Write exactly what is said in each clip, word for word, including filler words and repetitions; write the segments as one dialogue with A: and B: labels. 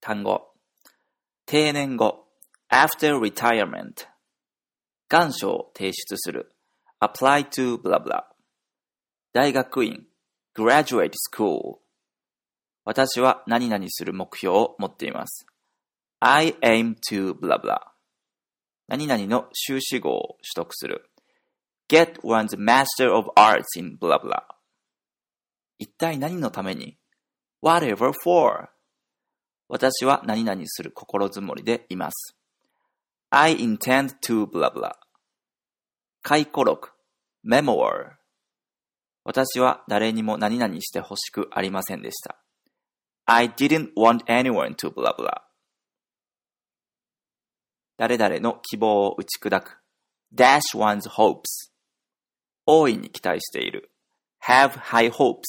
A: 単語。定年後 after retirement。願書を提出する apply to blah blah。大学院 graduate school。私は何々する目標を持っています。I aim to blah blah。何々の修士号を取得する get one's master of arts in blah blah。一体何のために whatever for。私は何々する心づもりでいます。I intend to blah blah。回顧録 memoir。私は誰にも何々してほしくありませんでした。I didn't want anyone to blah blah。誰々の希望を打ち砕く dash one's hopes。大いに期待している have high hopes。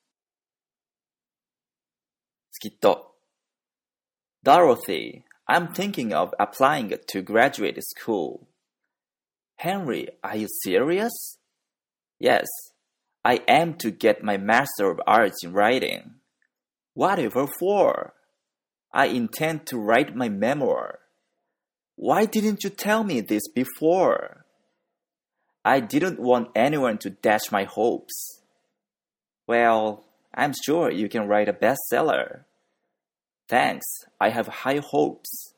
A: スキット Dorothy, I'm thinking of applying to graduate school. Henry, are you serious? Yes, I am to get my Master of Arts in Writing. Whatever for? I intend to write my memoir. Why didn't you tell me this before? I didn't want anyone to dash my hopes. Well, I'm sure you can write a bestseller. Thanks, I have high hopes.